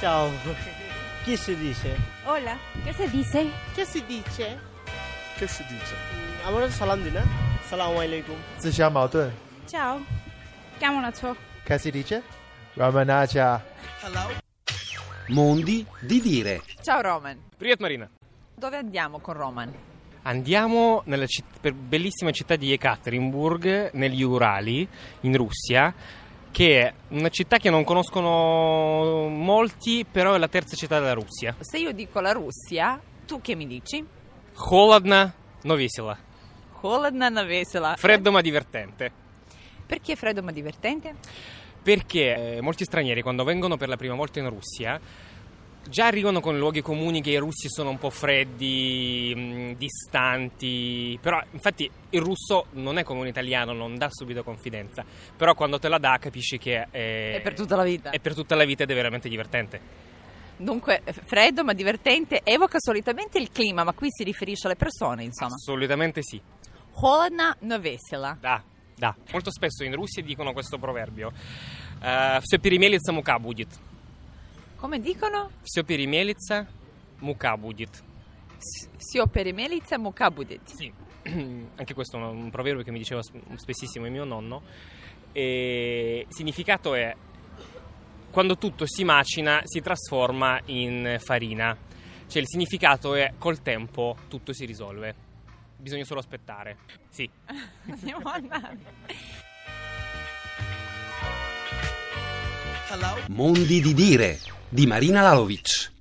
Ciao. Chi si dice? Hola, ¿qué se dice? Che si dice? Che si dice? আমরা সালাম দিই না আসসালামু আলাইকুম 自相矛盾 Ciao, chiamo una ciò. che si dice? Ramanaja. Mondi di dire. Ciao Roman, Привет, Marina. dove andiamo con Roman? Andiamo nella bellissima città di Ekaterinburg, negli Urali, in Russia, che è una città che non conoscono molti, però è la terza città della Russia. Se io dico la Russia, tu che mi dici? Холодно, но весело. Холодно, но весело. Freddo ma divertente. Perché freddo ma divertente? Perché molti stranieri, quando vengono per la prima volta in Russia, già arrivano con luoghi comuni che i russi sono un po' freddi, distanti, però infatti il russo non è come un italiano, non dà subito confidenza, però quando te la dà capisci che È per tutta la vita. è per tutta la vita ed è veramente divertente. Dunque, freddo ma divertente evoca solitamente il clima, ma qui si riferisce alle persone, insomma. Assolutamente sì. Холодно, но весело. Da. Molto spesso in Russia dicono questo proverbio. Все перемелится, мука будет. Come dicono? Все перемелится, мука будет. Sio perimelica muka будет. Sì, anche questo è un proverbio che mi diceva spessissimo il mio nonno. E il significato è: quando tutto si macina si trasforma in farina. Cioè il significato è: col tempo tutto si risolve. Bisogna solo aspettare. Sì. Andiamo andare. Mondi di dire di Marina Lalovic.